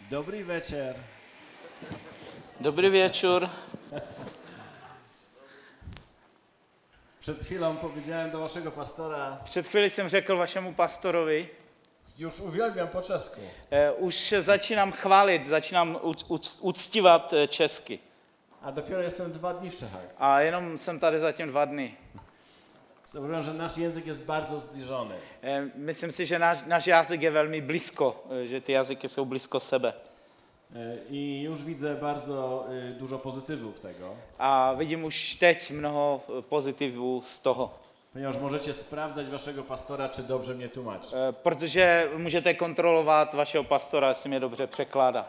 Dobrý večer. Dobrý wieczór. Przed chwilą powiedziałem do waszego pastora, Před chvíli jsem řekl vašemu pastorovi, już uwielbiam po czesku. už začínám chválit, začínám uctívat česky. A dopiero jestem 2 dni w Czechach. A jenom jsem tady zatím 2 dny. Zauważyłem, że nasz język jest bardzo zbliżony. Myslím si, že náš jazyk je velmi blízko, že ty jazyky jsou blízko sebe. I już widzę bardzo dużo pozytywów tego, A vidím už teď mnoho pozitivů z toho. ponieważ możecie sprawdzać waszego pastora, czy dobrze mnie tłumaczy. Protože můžete kontrolovat vašeho pastora, jestli mě dobře překládá.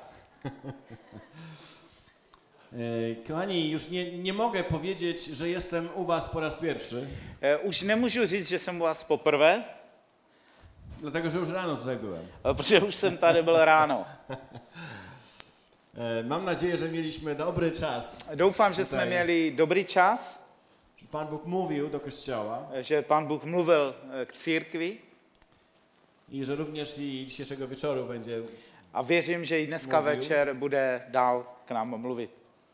Kochani, już nie mogę powiedzieć, że jestem u was po raz pierwszy, Už nemůžu říct, že jsem u vás poprvé, dlatego że już rano tutaj byłem. protože už jsem tady byl ráno. Mam nadzieję, że mieliśmy dobry czas, Doufám, že jsme měli dobrý čas, że Pan Bóg mówił do Kościoła že Pán Bůh mluvil k církvi i że również i dzisiejszego wieczoru będzie. a věřím, že i dneska Mluvil. večer bude dál k nám mluvit.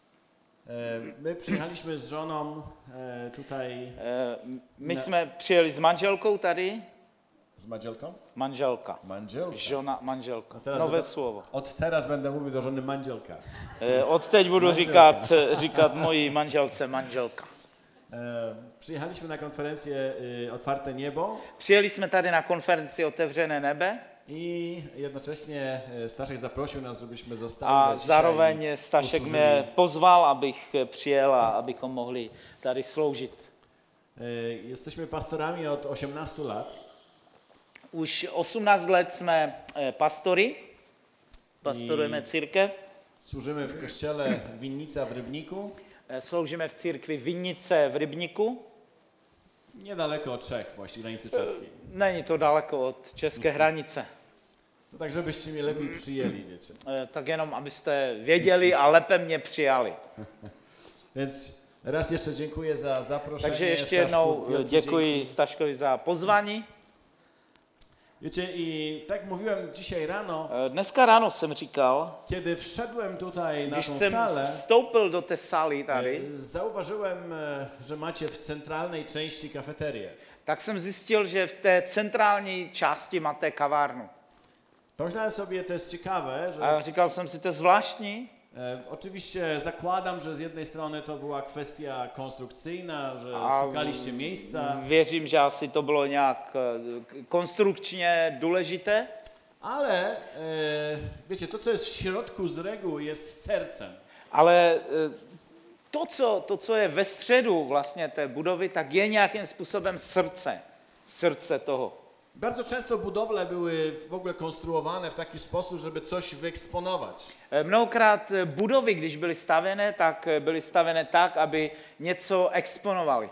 My przyjechaliśmy z żoną tutaj. My jsme přijeli s manželkou tady. Z Mandzielką? Manželka. Mandzielka. Žona, manželka. A teraz Nové będę- slovo. Od teraz będę mówił do żony Mandzielka. Od teď budu Manželka. říkat mojí manželce manželka. Przyjechaliśmy na konferencję Otwarte Niebo Přijeli jsme tady na konferenci Otevřené nebe i jednocześnie Staszek zaprosił nas, żebyśmy zostali a na dzisiaj zároveň i Stašek usłużyli. mě pozval, abych přijel a abychom mohli tady sloužit. Jesteśmy pastorami od 18 lat Už 18 let jsme pastory, pastorujeme církev, służymy w kościele Winnica w Rybniku, sloužíme v církvi Vinice v Rybníku. niedaleko od Czech, właśnie granicy czeskiej. Není to daleko od české hranice. No tak, żebyście mnie lepiej przyjęli, wiecie. Tak jenom, abyste věděli a lépe mě přijali. Więc raz jeszcze dziękuję za zaproszenie. Takže ještě Staszku, jednou wielkie děkuji dzięki. Staškovi za pozvání. Wiecie, i tak mówiłem dzisiaj rano, Dneska ráno jsem říkal, kiedy wszedłem tutaj na když tą jsem salę, vstoupil do té sály tady, zauważyłem, że macie w centralnej części kafeterię. tak jsem zjistil, že v té centrální části máte kavárnu. Pomyślałem sobie, to jest ciekawe, że A říkal jsem si, to je zvláštní. Oczywiście zakładam, że z jednej strony to była kwestia konstrukcyjna, że A szukaliście miejsca, Věřím, že asi to bylo nějak konstrukčně důležité, ale wiecie, to co jest w środku z reguły jest sercem. ale to, co je ve středu vlastně té budovy, tak je nějakým způsobem srdce toho. Bardzo często budowle były w ogóle konstruowane w taki sposób, żeby coś wyeksponować. Mnohokrát budovy, když byly stavěné, tak byly stavěné tak, aby něco exponovali.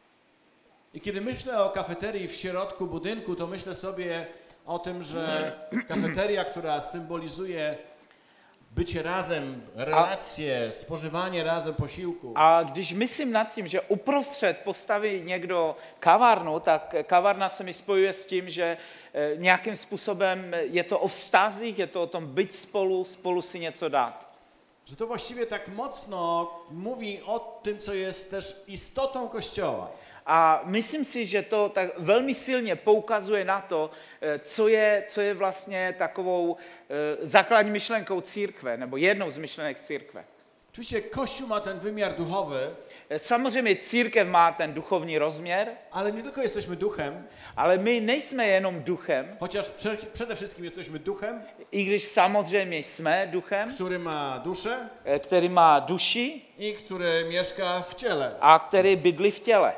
I kiedy myślę o kafeterii w środku budynku, to myślę sobie o tym, że kafeteria, która symbolizuje bycie razem, relacje, spożywanie razem posiłku. A když myslím nad tím, že uprostřed postaví někdo kavárnu, tak kavárna se mi spojuje s tím, že nějakým způsobem je to o vztazích, je to o tom být spolu si něco dát. Że to właściwie tak mocno mówi o tym, co jest też istotą Kościoła. A myslím si, že to tak velmi silně poukazuje na to, co je vlastně takovou základní myšlenkou církve, nebo jednou z myšlenek církve. Oczywiście Kościół ma ten wymiar duchowy, Samozřejmě církev má ten duchovní rozměr, ale nie tylko jesteśmy duchem, ale my nejsme jenom duchem, chociaż przede wszystkim jesteśmy duchem, i když samozřejmě jsme duchem, który ma duszę který má duši i który mieszka w ciele. a který bydlí v těle.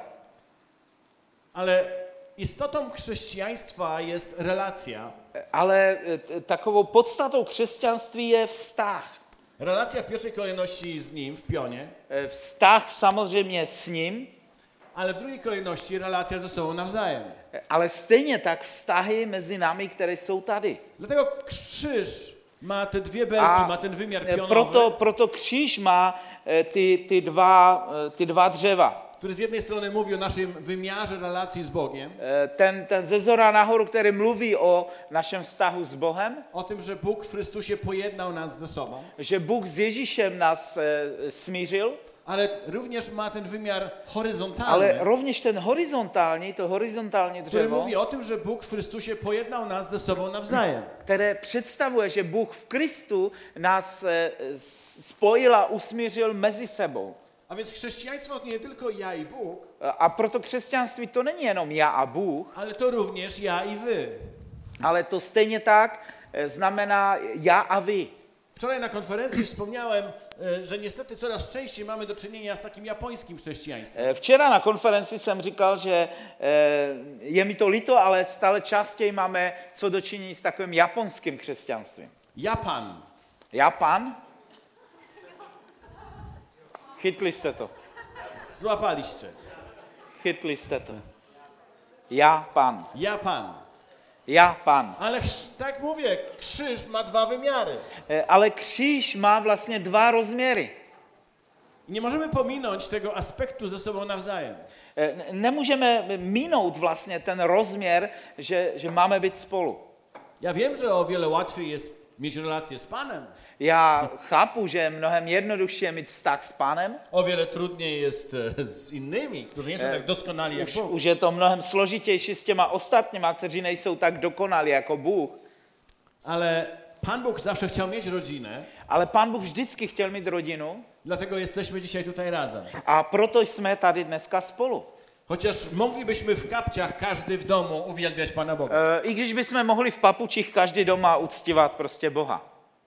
Ale istotą chrześcijaństwa jest relacja. Ale takovou podstatou křesťanství je vztah. Relacja w pierwszej kolejności z Nim, w pionie, Vztah samozřejmě s ním, ale w drugiej kolejności relacja ze sobą nawzajem. ale stejně tak vztahy mezi námi, které jsou tady. Dlatego krzyż ma te dwie belki, ma ten wymiar pionowy, Proto kříž má ty dva dřeva, który z jednej strony mówi o naszym wymiarze relacji z Bogiem, ten ze zhora nahoru, který mluví o našem vztahu s Bohem, o tym, że Bóg w Chrystusie pojednał nas ze sobą, že Bůh s Ježíšem nás smířil, ale również ma ten wymiar ale horyzontalny, rovněž ten horizontální, to horizontální który dřevo, mówi o tym, że Bóg w Chrystusie pojednał nas ze sobą nawzajem. které představuje, že Bůh v Kristu nás spojil a usmířil mezi sebou. A więc chrześcijaństwo to nie tylko ja i Bóg, A proto křesťanství to není jenom já a Bůh, ale to również ja i wy. ale to stejně tak znamená já a vy. Wczoraj na konferencji wspomniałem, że niestety coraz częściej mamy do czynienia z takim japońskim chrześcijaństwem. Včera na konferenci jsem říkal, že je mi to líto, ale stále častěji máme co dočinění s takovým japonským křesťanstvím. Japan. Japan? Chytli jste to. Złapaliście. Chytli jste to. Japan. Japan. Japan. Ale tak mówię, krzyż ma dwa wymiary. Ale kříž má vlastně dva rozměry. I nie możemy pominąć tego aspektu ze sobą nawzajem. Nemůžeme minout vlastně ten rozměr, že máme být spolu. Ja wiem, że o wiele łatwiej jest mieć relację z Panem. Já chápu, že je mnohem jednodušší mít vztah s Pánem. O wiele trudniej jest z innymi, którzy nie są tak doskonali jak Bóg. Už je to mnohem složitější s těma ostatníma, kteří nejsou tak dokonalí jako Bůh. Ale Pan Bóg zawsze chciał mieć rodzinę, Ale Pán Bůh vždycky chtěl mít rodinu dlatego jesteśmy dzisiaj tutaj razem. a proto jsme tady dneska spolu. Chociaż moglibyśmy w kapciach każdy w domu uwielbiać Pana Boga. I když bychom mohli v papučích každý doma uctívat prostě Boha.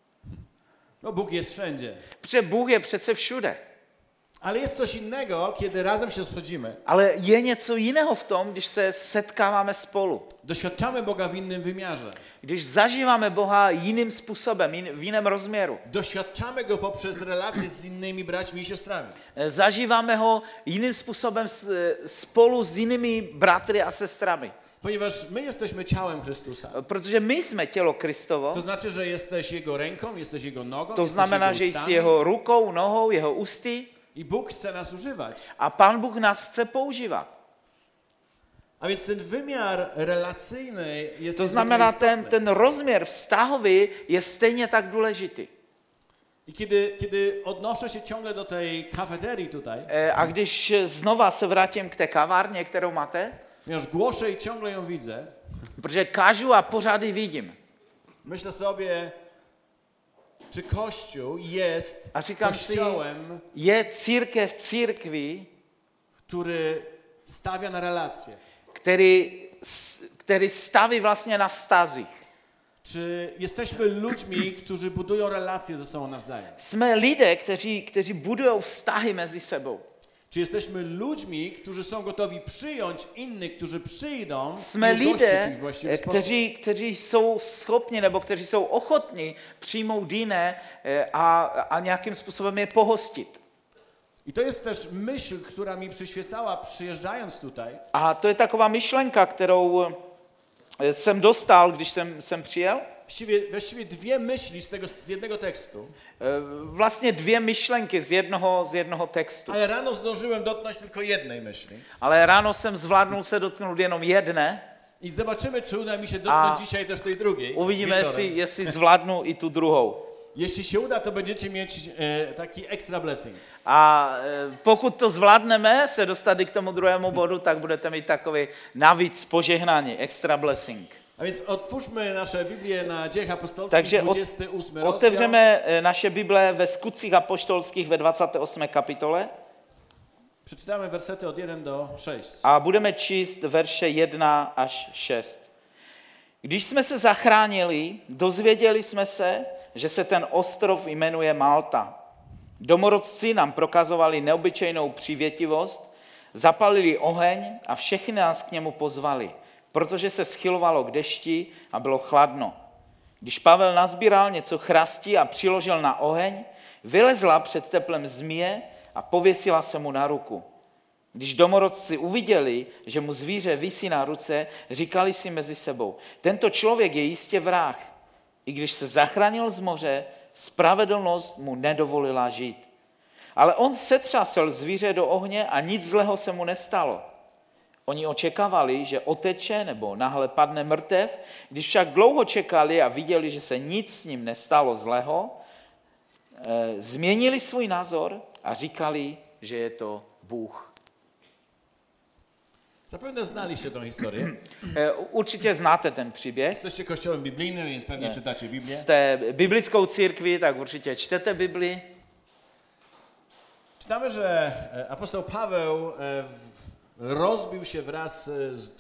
No Bóg jest wszędzie. Protože Bůh je přece všude. Ale jest coś innego, kiedy razem się schodzimy. Ale je něco jiného v tom, když se setkáváme spolu. Doświadczamy Boga w innym wymiarze. Když zažíváme Boha jiným způsobem, v jiném rozměru. Doświadczamy Go poprzez relacje z innymi braćmi i siostrami. Zažíváme ho jiným způsobem spolu s jinými bratry a sestrami. Ponieważ my jesteśmy ciałem Chrystusa. Protože my jsme tělo Kristovo, To znaczy, że jesteś Jego ręką, jesteś Jego nogą, to jesteś znamená, Jego že jsi ustami. jeho rukou, nohou, jeho ústy I Bóg chce nas używać. a Pán Bůh nás chce používat. A więc ten wymiar relacyjny jest To niezwykle znamená, istotny. ten rozměr vztahový je stejně tak důležitý. I kiedy odnoszę się ciągle do tej kafeterii tutaj, A když znova se vrátím k té kavárně, kterou máte, ponieważ głoszę i ciągle ją widzę, protože kážu a pořád ji vidím. myślę sobie, czy Kościół jest A říkám si, kościołem, je církev církví, który stawia na relacje. který staví vlastně na vztazích. Czy jesteśmy ludźmi, którzy budują relacje ze sobą nawzajem? Jsme lidé, kteří budují vztahy mezi sebou. Czy jesteśmy ludźmi, którzy są gotowi przyjąć innych, którzy przyjdą Jsme i ugościć lidé, ich w właściwy sposób? kteří jsou schopni nebo kteří jsou ochotní přijmout jiné a nějakým způsobem je pohostit. I to jest też myśl, która mi przyświecała przyjeżdżając tutaj, A to je taková myšlenka, kterou jsem dostal, když jsem přijel. właściwie dwie myśli z jednego tekstu, Vlastně dvě myšlenky z jednoho textu. ale rano zdążyłem dotknąć tylko jednej myśli. Ale ráno jsem zvládnul se dotknout jenom jedné. I zobaczymy, czy uda mi się dotknąć dzisiaj też tej drugiej. Uvidíme, wieczorem. jestli zvládnu i tu druhou. Jeśli się uda, to będziecie mieć taki extra blessing. A pokud to zvládneme se dostat i k tomu druhému bodu, tak budete mít takový navíc požehnání, extra blessing. A więc otwórzmy nasze Biblię na Dziejach Apostolskich, Takže 28 rozdział. otevřeme naše Bible ve Skutcích apoštolských ve 28. kapitole Przeczytamy wersety od 1 do 6. a budeme číst verše 1 až 6. Když jsme se zachránili, dozvěděli jsme se, že se ten ostrov jmenuje Malta. Domorodci nám prokazovali neobyčejnou přívětivost, zapalili oheň a všechny nás k němu pozvali, protože se schylovalo k dešti a bylo chladno. Když Pavel nazbíral něco chrastí a přiložil na oheň, vylezla před teplem zmije a pověsila se mu na ruku. Když domorodci uviděli, že mu zvíře visí na ruce, říkali si mezi sebou, tento člověk je jistě vrah. I když se zachránil z moře, spravedlnost mu nedovolila žít. Ale on setřásl zvíře do ohně a nic zlého se mu nestalo. Oni očekávali, že oteče nebo náhle padne mrtev, když však dlouho čekali a viděli, že se nic s ním nestalo zlého, změnili svůj názor a říkali, že je to Bůh. Zapewne znaliście tą historię. Určitě znáte ten příběh. Jesteście kościołem biblijnym, więc pewnie czytacie Biblię. Jste biblickou církví, tak určitě čtete Bibli. Czytamy, że apostoł Paweł rozbił się wraz z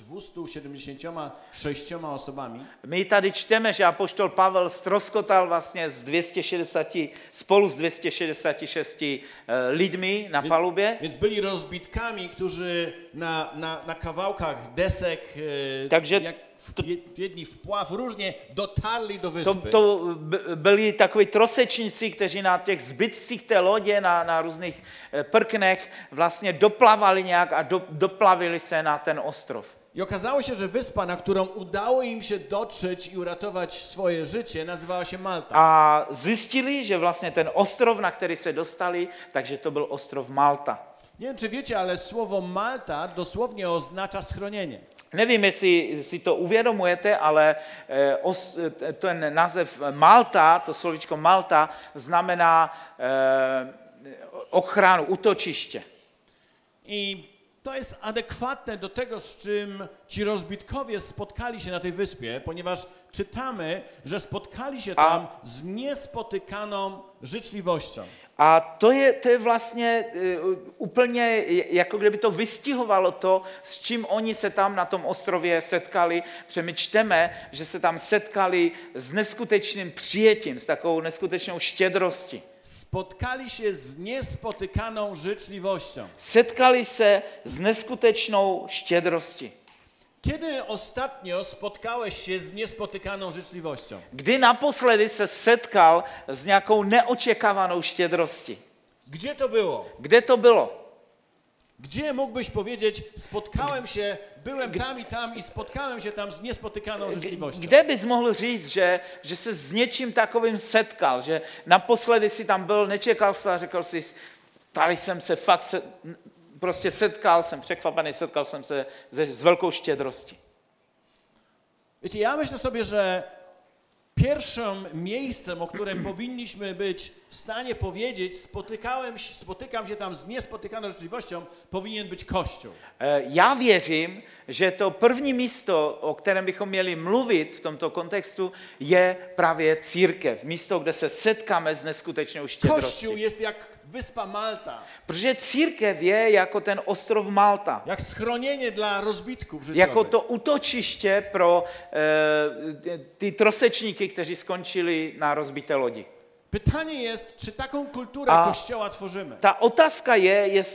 276 osobami. My tady čteme, že apoštol Pavel ztroskotal vlastně spolu s 266 lidmi na palubě. Więc byli rozbitkami, którzy na kawałkach desek, Takže jak jedni wpław, różnie dotarli do wyspy. To byli takoví trosečníci, kteří na těch zbytcích té lodě, na různých prknech vlastně doplavali nějak a doplavili se na ten ostrov. I okazało się, że wyspa, na którą udało im się dotrzeć i uratować swoje życie, nazywała się Malta. A zjistili, že vlastně ten ostrov, na který se dostali, takže to byl ostrov Malta. Nie wiem, czy wiecie, ale słowo Malta dosłownie oznacza schronienie. Nevím, jestli si to uvědomujete, ale ten název Malta, to slovíčko Malta, znamená ochranu, útočiště. I to jest adekwatne do tego, z czym ci rozbitkowie spotkali się na tej wyspie, ponieważ czytamy, że spotkali się tam z niespotykaną życzliwością. A to je vlastně úplně, jako kdyby to vystihovalo to, s čím oni se tam na tom ostrově setkali. Protože my čteme, že se tam setkali s neskutečným přijetím, s takovou neskutečnou štědrostí. Spotkali się z niespotykaną życzliwością. Setkali se s neskutečnou štědrostí. Kiedy ostatnio spotkałeś się z niespotykaną życzliwością? Kdy naposledy se setkal s nějakou neočekávanou štědrostí? Gdzie to było? Kde to bylo? Gdzie mógłbyś powiedzieć, byłem tam i spotkałem się tam z niespotykaną życzliwością? Kde bys mohl říct, že se s něčím takovým setkal, že naposledy si tam byl, nečekal se a řekl si, tady jsem se fakt prostě setkal, jsem překvapený, setkal jsem se s velkou štědrostí. Wiecie, ja myślę sobie, że pierwszym miejscem, o którym powinniśmy być w stanie powiedzieć, spotykam się tam z niespotykaną życzliwością, powinien być Kościół. Já věřím, že to první místo, o kterém bychom měli mluvit v tomto kontextu, je právě církev. Místo, kde se setkáme s neskutečnou štědrostí. Kościół jest jak wyspa Malta. Protože církev je jako ten ostrov Malta. Jak schronienie dla rozbitków życiowych. Jako to útočiště pro ty trosečníky, kteří skončili na rozbité lodi. Pytanie jest, czy taką kulturę Kościoła tworzymy? Ta otázka je,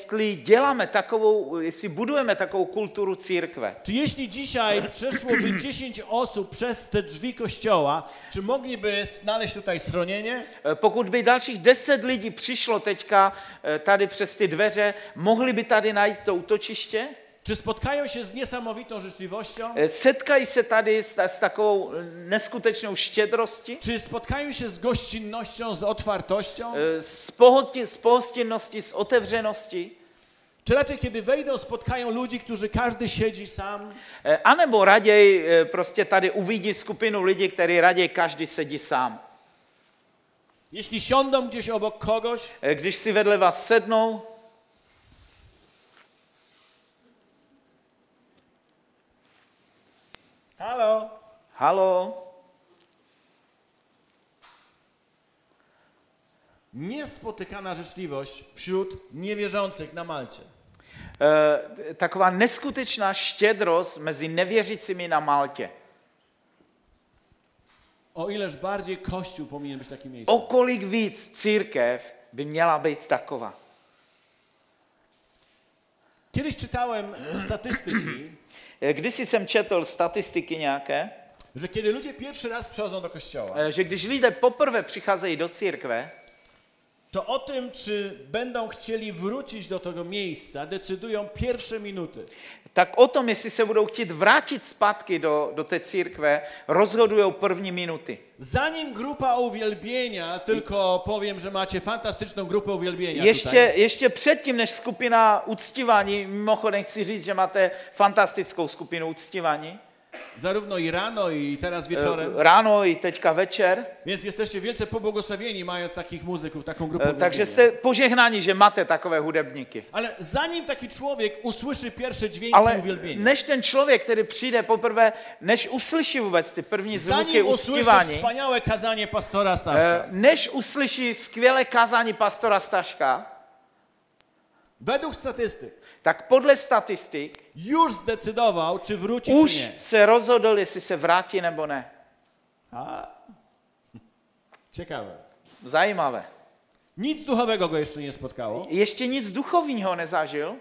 jestli budujeme takovou kulturu církve. Czy jeśli dzisiaj przeszłoby 10 osób przez te drzwi Kościoła, czy mogliby znaleźć tutaj schronienie? Pokud by dalších 10 lidí přišlo teďka tady přes ty dveře, mohli by tady najít to útočiště? Czy spotkają się z niesamowitą życzliwością? Setkají se tady s takovou neskutečnou štědrostí? Czy spotkają się z gościnnością, z otwartością? Z pohostinnosti, z otevřenosti? Czy raczej kiedy wejdą, spotkają ludzi, którzy każdy siedzi sam? A nebo raději prostě tady uvidí skupinu lidí, kteří raději každý sedí sám? Jeśli siądą gdzieś obok kogoś, když si vedle vás sednou, halo? halo? Niespotykana życzliwość wśród niewierzących na Malcie. Taková neskutečná štědrost mezi nevěřícími na Maltě. O ileż bardziej Kościół powinien być takim miejscem. O kolik víc církev by měla být taková. Kiedyś czytałem statystyki, Když jsem četl statistiky nějaké, że kiedy ludzie pierwszy raz przychodzą do kościoła, že když lidé poprvé přicházejí do církve, to o tym, czy będą chcieli wrócić do tego miejsca, decydują pierwsze minuty. Tak o tom, jestli se budou chtít vrátit zpátky do té církve, rozhodují první minuty. Zanim grupa uwielbienia, tylko powiem, że macie fantastyczną grupę uwielbienia tutaj. Ještě předtím, než skupina uctívání, mimochodem chci říct, že máte fantastickou skupinu uctívání. Zarówno i rano, i teraz wieczorem. Ráno i teďka večer. Więc jesteście wielce pobłogosławieni, mając takich muzyków, taką grupę uwielbienia. Takže jste požehnáni, že máte takové hudebníky. Ale zanim taki człowiek usłyszy pierwsze dźwięki Ale uwielbienia, než ten člověk, který přijde poprvé, než uslyší vůbec ty první zvuky zanim usłyszy uctívání, wspaniałe kazanie pastora Staszka, než uslyší skvělé kázání pastora Staška, według statystyk tak podle statistik już zdecydował, czy wróci, už czy nie. se rozhodl, jestli se vrátí nebo ne. A? Ciekawe. Zajímavé. Nic duchowego go jeszcze nie spotkało, Ještě nic duchovního nezažil,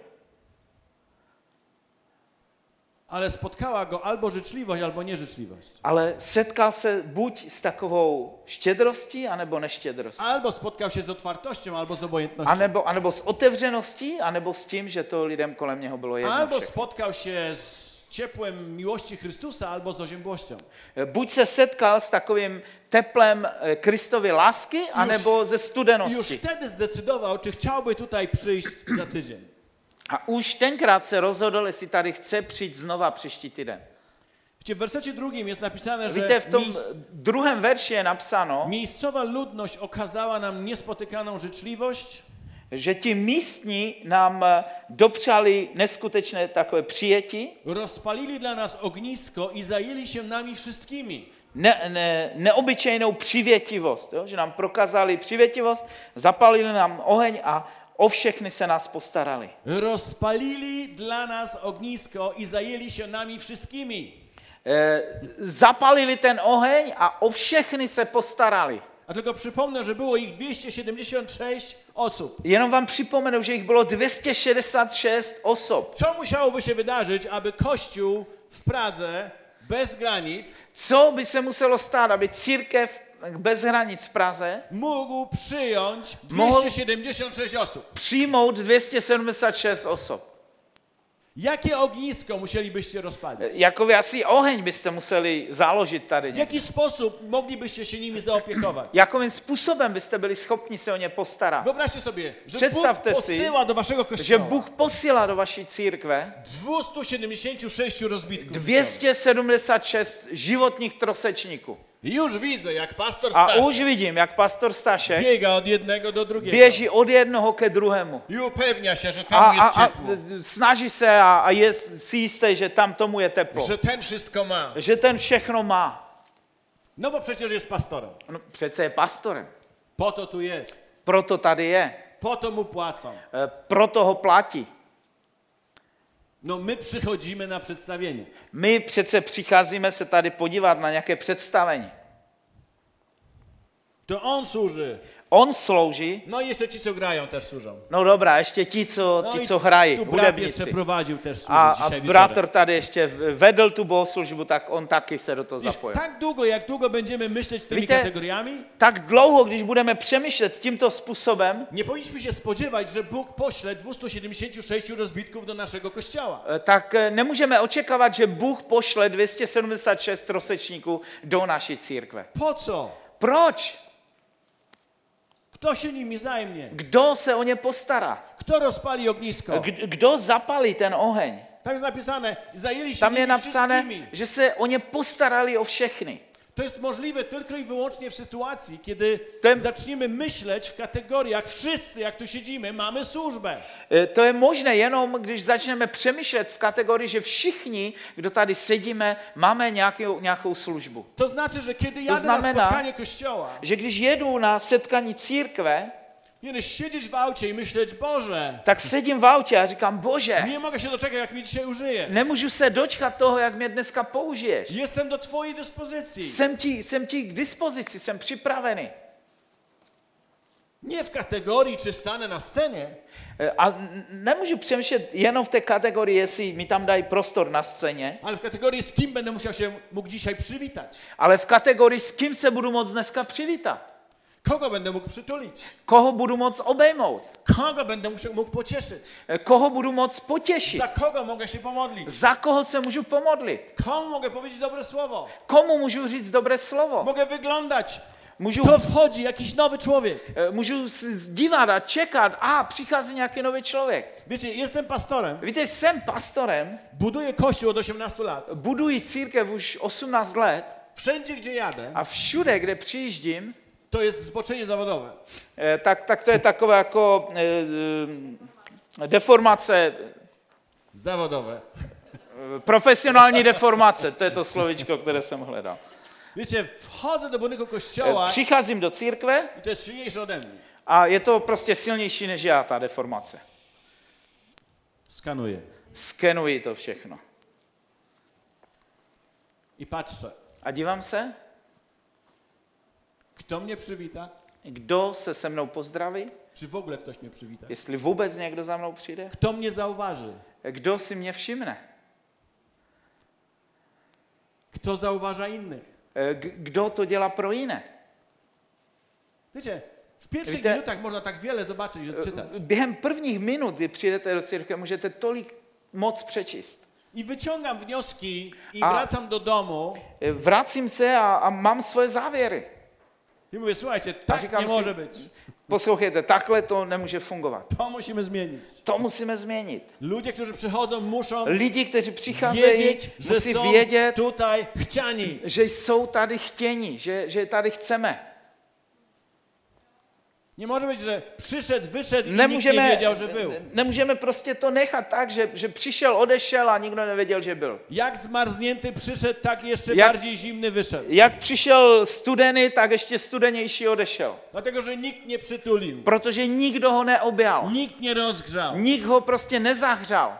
ale spotkała go albo życzliwość, albo nieżyczliwość. ale setkal se buď s takovou štědrostí, anebo neštědrostí. Albo spotkał się z otwartością, albo z obojętnością. Anebo s otevřeností, anebo s tím, že to lidem kolem něho bylo jedno Albo všechno. spotkał się z ciepłem miłości Chrystusa, albo z oziębłością. Buď se setkal s takovým teplem Kristovy lásky, anebo ze I już studenosti. wtedy zdecydował, czy chciałby tutaj przyjść za tydzień. A už tenkrát se rozhodl, jestli tady chce přijít znova příští týden. Wiecie, w wersecie 2 jest napisane, że Víte, v tom druhém verši je napsáno, miejscowa ludność okazała nam niespotykaną życzliwość, že ti místní nám dopřali neskutečné takové přijetí, rozpalili dla nas ognisko i zajęli się nami wszystkimi. neobyčejnou přivětivost, jo? Že nám prokázali přivětivost, zapalili nám oheň a o všechny se nás postarali. Rozpalili dla nas ognisko i zajęli się nami wszystkimi. Zapalili ten oheň a o všechny se postarali. A tylko przypomnę, że było ich 276 osób. Jenom vám připomenu, že jich bylo 266 osob. Co musiałoby się wydarzyć, aby Kościół w Pradze bez granic Co by se muselo stát, aby církev bez hranic v Praze mógł przyjąć Mohl- 276 osób? přijmout 276 osob? Jakie ognisko musielibyście rozpalić? Jakoby asi oheň byste museli založit tady W někde. jaki sposób moglibyście się nimi zaopiekować? Jakým způsobem byste byli schopni se o ně postarat? Wyobraźcie sobie, że Bóg Przedstawte si, posyła do waszego Že kościoła Bůh posílá do vaší církve 276 rozbitków. 276 životních trosečníků. I już widzę, jak pastor A Staszek už vidím, jak pastor Stašek biega od jednego do drugiego běží od jednoho ke druhému. i upewnia się, że tam jest A ciepło, snaží se a je si jistý, že tam tomu je teplo. że ten wszystko ma. Že ten všechno má. No bo przecież jest pastorem. No, přece je pastorem. Po to tu jest. Proto tady je. Po to mu płacą. Proto ho platí. No my przychodzimy na przedstawienie. My přece přicházíme se tady podívat na nějaké představení. To on służy. On slouží, No i jeszcze ci, co grają, też służą. no dobrá, ještě ti, No i co hrají, tu brat jeszcze hudebníci. prowadził, też służy A dzisiaj bratr wieczorem. tady ještě vedl tu bohoslužbu, tak on taky se do toho Wiesz, zapojil. tak długo, jak długo będziemy myśleć tymi Víte- kategoriami, Tak dlouho, když budeme přemýšlet tímto způsobem, nie powinniśmy się spodziewać, że Bůh pośle 276 rozbitków do naszego kościoła. tak nemůžeme očekávat, že Bůh pošle 276 trosečníků do naší církve. Po co? Proč? Kto się nimi zajmie? Kdo se o ně postará? Kto rozpali ognisko? Kdo zapalí ten oheň? Tam jest napisane, zajęli się Tam je nimi napsané, wszystkimi. že se o ně postarali o všechny. To jest możliwe tylko i wyłącznie w sytuacji, kiedy Ten- zaczniemy myśleć w kategoriach wszyscy, jak tu siedzimy, mamy służbę. To je možné jenom, když začneme přemýšlet v kategorii, že všichni, kdo tady sedíme, máme nějakou službu. To znaczy, że kiedy jadę na znamená- spotkanie kościoła, Že když jedu na setkání církve, powinieneś siedzieć w aucie i myśleć, Boże, tak sedím v autě a říkám, Bože, nie mogę się doczekać, jak mnie dzisiaj użyjesz. nemůžu se dočkat toho, jak mě dneska použiješ. Jestem do twojej dyspozycji. Jsem ti k dispozici, jsem připravený. Nie w kategorii, czy stanę na scenie, A nemůžu přemýšlet jenom v té kategorii, jestli mi tam dají prostor na scéně, ale w kategorii, z kim będę mógł dzisiaj przywitać. ale v kategorii, s kým se budu moct dneska přivítat. Kogo będę mógł przytulić? Koho budu moc obejmout? Kogo będę mógł pocieszyć? Koho budu moc potěšit? Za kogo mogę się pomodlić? Za koho se můžu pomodlit? Komu mogę powiedzieć dobre słowo? Komu můžu říct dobré slovo? Mogę wyglądać. Můžu, To wchodzi jakiś nowy człowiek. můžu se dívat a čekat, přichází nějaký nový člověk. Wiecie, jestem pastorem. Víte, jsem pastorem, Buduję kościół od 18 lat. buduji církev už 18 let Wszędzie, gdzie jadę, a všude, kde přijíždím, to jest zboczenie zawodowe. tak to je takové jako deformace, Zawodowe. profesionální deformace, to je to slovičko, které jsem hledal. Wiecie, wchodzę do budynku kościoła Přicházím do církve i to jest silniejsze ode mnie. a je to prostě silnější než já, ta deformace. Skanuję Skenuji to všechno. i patrzę, A dívám se, kto mnie przywita, kdo se mnou pozdraví, czy w ogóle ktoś mnie przywita. jestli vůbec někdo za mnou přijde, Kto mnie zauważy, kdo si mě všimne, kto zauważa innych. kdo to dělá pro jiné. Wiecie, w pierwszych Wiecie- minutach można tak wiele zobaczyć, odczytać. Během prvních minut, kdy přijdete do církve, můžete tolik moc přečíst. I wyciągam wnioski i A- wracam do domu Vracím se a mám svoje závěry. i mówię, słuchajcie, A tak říkám nie si, może być. poslouchejte, takhle to nemůže fungovat. To musimy zmienić. To musíme změnit. Ludzie, którzy przychodzą, muszą Lidi, kteří přicházejí, wiedzieć, że musí są vědět, tutaj chciani. že jsou tady chtěni, že je tady chceme. Nie może być, że przyszedł, wyszedł i nikt nie wiedział, że był. Nemůžeme prostě to nechat tak, že přišel, odešel a nikdo nevěděl, že byl. Jak zmarznięty przyszedł, tak jeszcze Jak- bardziej zimny wyszedł. Jak přišel studený, tak ještě studenější odešel. Dlatego, że nikt nie przytulił. Protože nikdo ho neobjal. Nikt nie rozgrzał. Nik ho prostě nezahřál.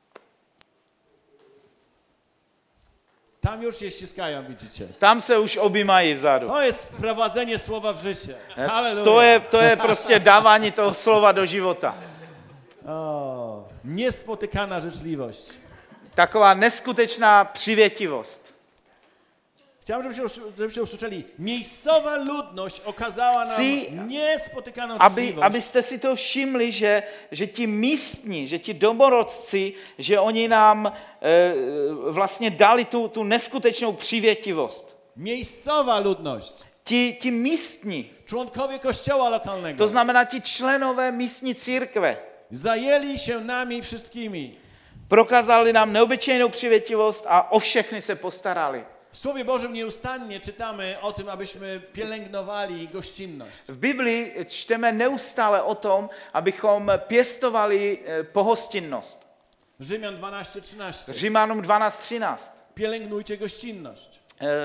Tam już się ściskają, widzicie. Tam se už objímají vzadu. To jest wprowadzenie słowa w życie. Halleluja. To je prostě dávání toho slova do života. O, niespotykana życzliwość. Taková neskutečná přivětivost. Chciałbym, żebyście usłyszeli. Miejscowa ludność okazała nam Chci, niespotykaną życzliwość. Abyste si to všimli, že ti místní, že ti domorodci, že oni nám vlastně dali tu neskutečnou přivětivost. Miejscowa ludność. Ti místní, Członkowie kościoła lokalnego. to znamená ti členové místní církve, Zajęli się nami wszystkimi. prokázali nám neobyčejnou přivětivost a o všechny se postarali. W Słowie Bożym nieustannie czytamy o tym, abyśmy pielęgnowali gościnność. V Biblii čteme neustále o tom, abychom pěstovali pohostinnost. Rzymian 12:13. Římanům 12:13. Pielęgnujcie gościnność.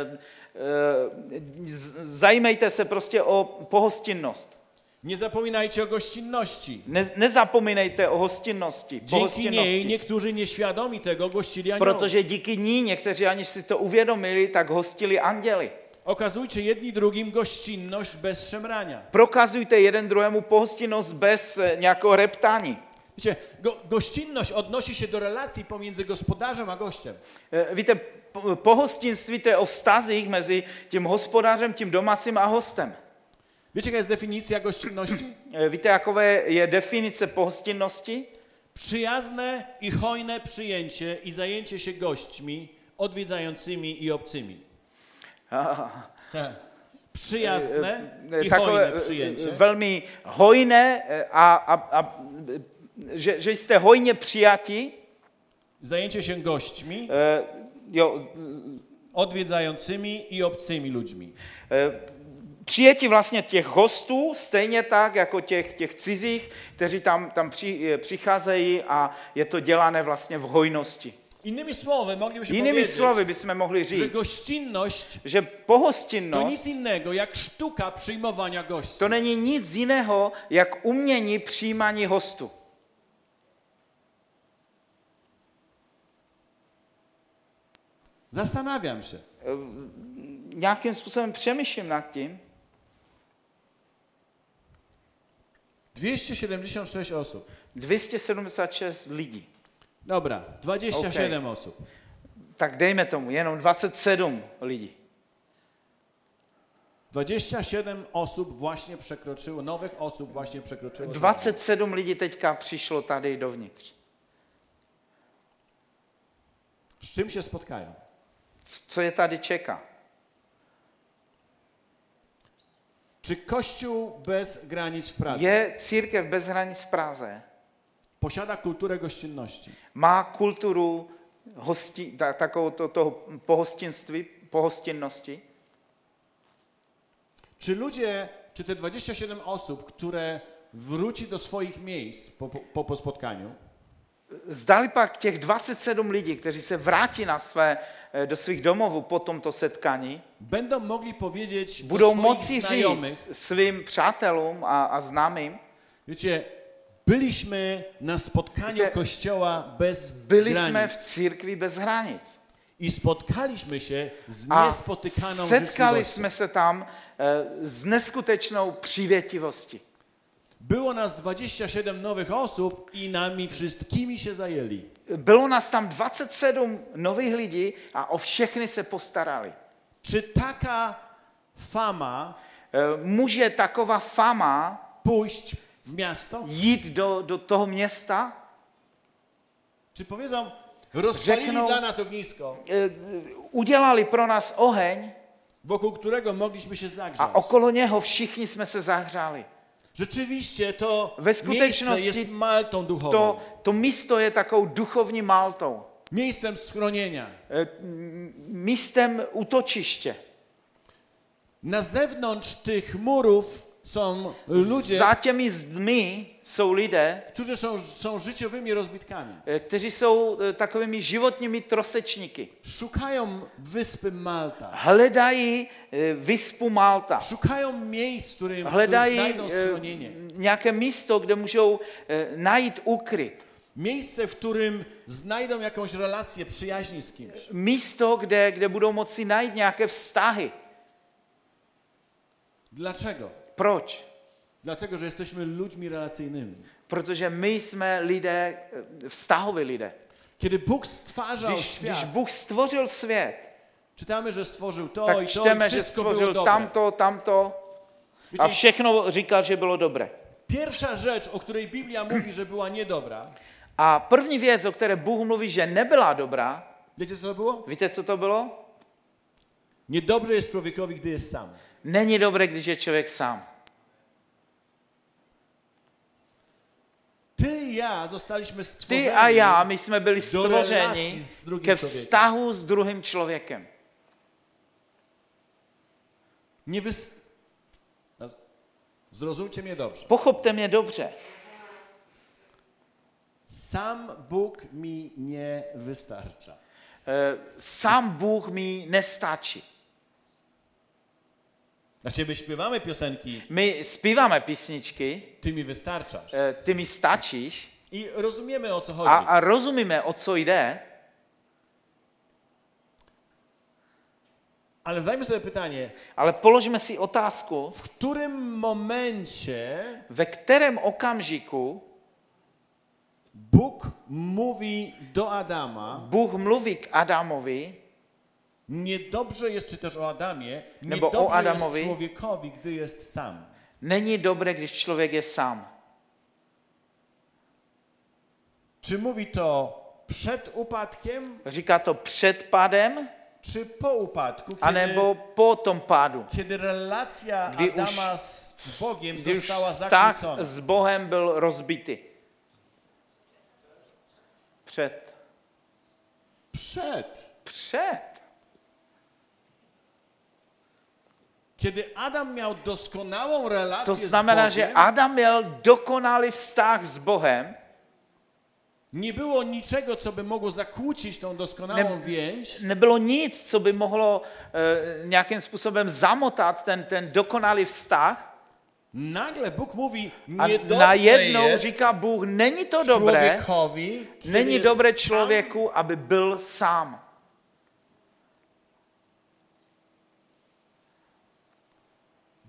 Zajímejte se prostě o pohostinnost. Nie zapominajcie o gościnności. Nezapomínejte o hostinnosti, Dzięki niej pohostinnosti. niektórzy nieświadomi tego gościli aniołów. Protože díky ní někteří, aniž si to uvědomili, tak hostili anděli. Okazujcie jedni drugim gościnność bez szemrania. Prokazujte jeden druhému pohostinnost bez nějakého reptání. Wiecie, gościnność odnosi się do relacji pomiędzy gospodarzem a gościem. Víte, pohostinství to je o vztazích mezi tím hospodářem, tím domácím a hostem. Wiecie, jaka jest definicja gościnności? Víte, jaká je definice pohostinnosti? Przyjazne i hojne przyjęcie i zajęcie się gośćmi, odwiedzającymi i obcymi. Przyjazne i hojne przyjęcie. Velmi hojné že jste hojně přijati, Zajęcie się gośćmi, odwiedzającymi i obcymi ludźmi. Přijetí vlastně těch hostů, stejně tak jako těch cizích, kteří tam přicházejí a je to dělané vlastně v hojnosti. Innymi słowy, moglibyśmy Jinými powiedzieć, slovy bychom mohli że říct, gościnność že to pohostinnost nic innego jak sztuka przyjmowania gości. to není nic jiného, jak umění přijímání hostů. Zastanawiam się. Nějakým způsobem přemýšlím nad tím. 276 osób. 276 lidí. Dobra, 27 osób. Tak dejme tomu, jenom 27 lidí. 27 osób właśnie przekroczyło, nowych osób właśnie przekroczyło. 27 lidí teďka přišlo tady dovnitř. Z czym się spotkają? Co je tady čeká? Czy Kościół bez granic w Pradze Je církev bez hranic v Praze? posiada kulturę gościnności? Má kulturu takovou toho pohostinnosti? Czy ludzie, czy te 27 osób, które wróci do swoich miejsc po spotkaniu, Zdali pak těch 27 lidí, kteří se vrátí do svých domovů po tomto setkání, będą mogli powiedzieć budou do swoich moci znajomych, říct svým přátelům a známým, wiecie, byliśmy na spotkaniu Wiecie, Kościoła bez byli jsme v granic církvi bez hranic. i spotkaliśmy się z A niespotykaną setkali życzliwością. jsme se tam s neskutečnou přívětivostí. Było nas 27 nowych osób i nami wszystkimi się zajęli. Bylo nás tam 27 nových lidí a o všechny se postarali. Czy taka fama Může taková fama pójść w miasto? jít do toho města? Czy powiedzą, rozpalili Řeknou- dla nas ognisko, Udělali pro nás oheň wokół którego mogliśmy się zagrzać? a okolo něho všichni jsme se zahřáli. Rzeczywiście to We miejsce skutečnosti jest maltą duchową, To místo je takovou duchovní maltou, miejscem schronienia. místem útočiště. Na zewnątrz tych murów są ludzie, Za těmi zdmi jsou lidé, którzy są życiowymi rozbitkami. kteří jsou takovými životními trosečníky. Szukają wyspy Malta. Hledají vyspu Malta. Szukają miejsc, w którym Hledají znajdą schronienie. nějaké místo, kde můžou najít ukryt. Miejsce, w którym znajdą jakąś relację przyjaźni z kimś. Místo, kde budou moci najít nějaké vztahy. Dlaczego? Proč? Dlatego, że jesteśmy ludźmi relacyjnymi. Protože my jsme lidé, vztahoví lidé. Kiedy Bóg stwarzał Když świat, Bůh stvořil svět, czytamy, że stworzył to tak i to i čteme, že wszystko było stvořil dobre. tamto a Wiecie, všechno říkal, že bylo dobré. pierwsza rzecz, o której Biblia mówi, że była niedobra, A první věc, o které Bůh mluví, že nebyla dobrá, wiecie co to było? víte, co to bylo? Niedobrze jest człowiekowi, gdy jest sam. Není dobré, když je člověk sám. Ty i ja zostaliśmy stworzeni Ty a já, my jsme byli do relacji stvořeni z drugim ke człowiekiem. vztahu s druhým člověkem. Zrozumcie mnie dobrze. Pochopte mě dobře. Sam Bóg mi nie wystarcza. Sám Bůh mi nestačí. Dla ciebie śpiewamy piosenki, My zpíváme písničky, ty mi wystarczasz. ty mi stačíš I rozumiemy, o co chodzi. a rozumíme, o co jde, Ale zdajmy sobie pytanie, ale položme si otázku, w którym momencie ve kterém okamžiku Bóg mówi do Adama, Bůh mluví k Adamovi, niedobrze jest, czy też o Adamie, Nebo o niedobrze Adamowi. jest człowiekowi, gdy jest sam. není dobré, když člověk je sám. Czy mówi to przed upadkiem, Říká to před pádem, czy po upadku, anebo po tom pádu, kiedy relacja Gdy už- Adama z Bogiem kdy už została vztah zakłócona? s Bohem byl rozbitý. Před. Przed. Kiedy Adam miał doskonałą relację To z znamená, Bogiem, že Adam měl dokonalý vztah s Bohem, nie było niczego, co by mogło zakłócić tą doskonałą więź, nebylo nic, co by mohlo nějakým způsobem zamotat ten dokonalý vztah. nagle Bóg mówi, A niedobrze najednou jest říká Bůh, není to dobré, człowiekowi, kiedy není jest dobré sam. člověku, aby byl sám.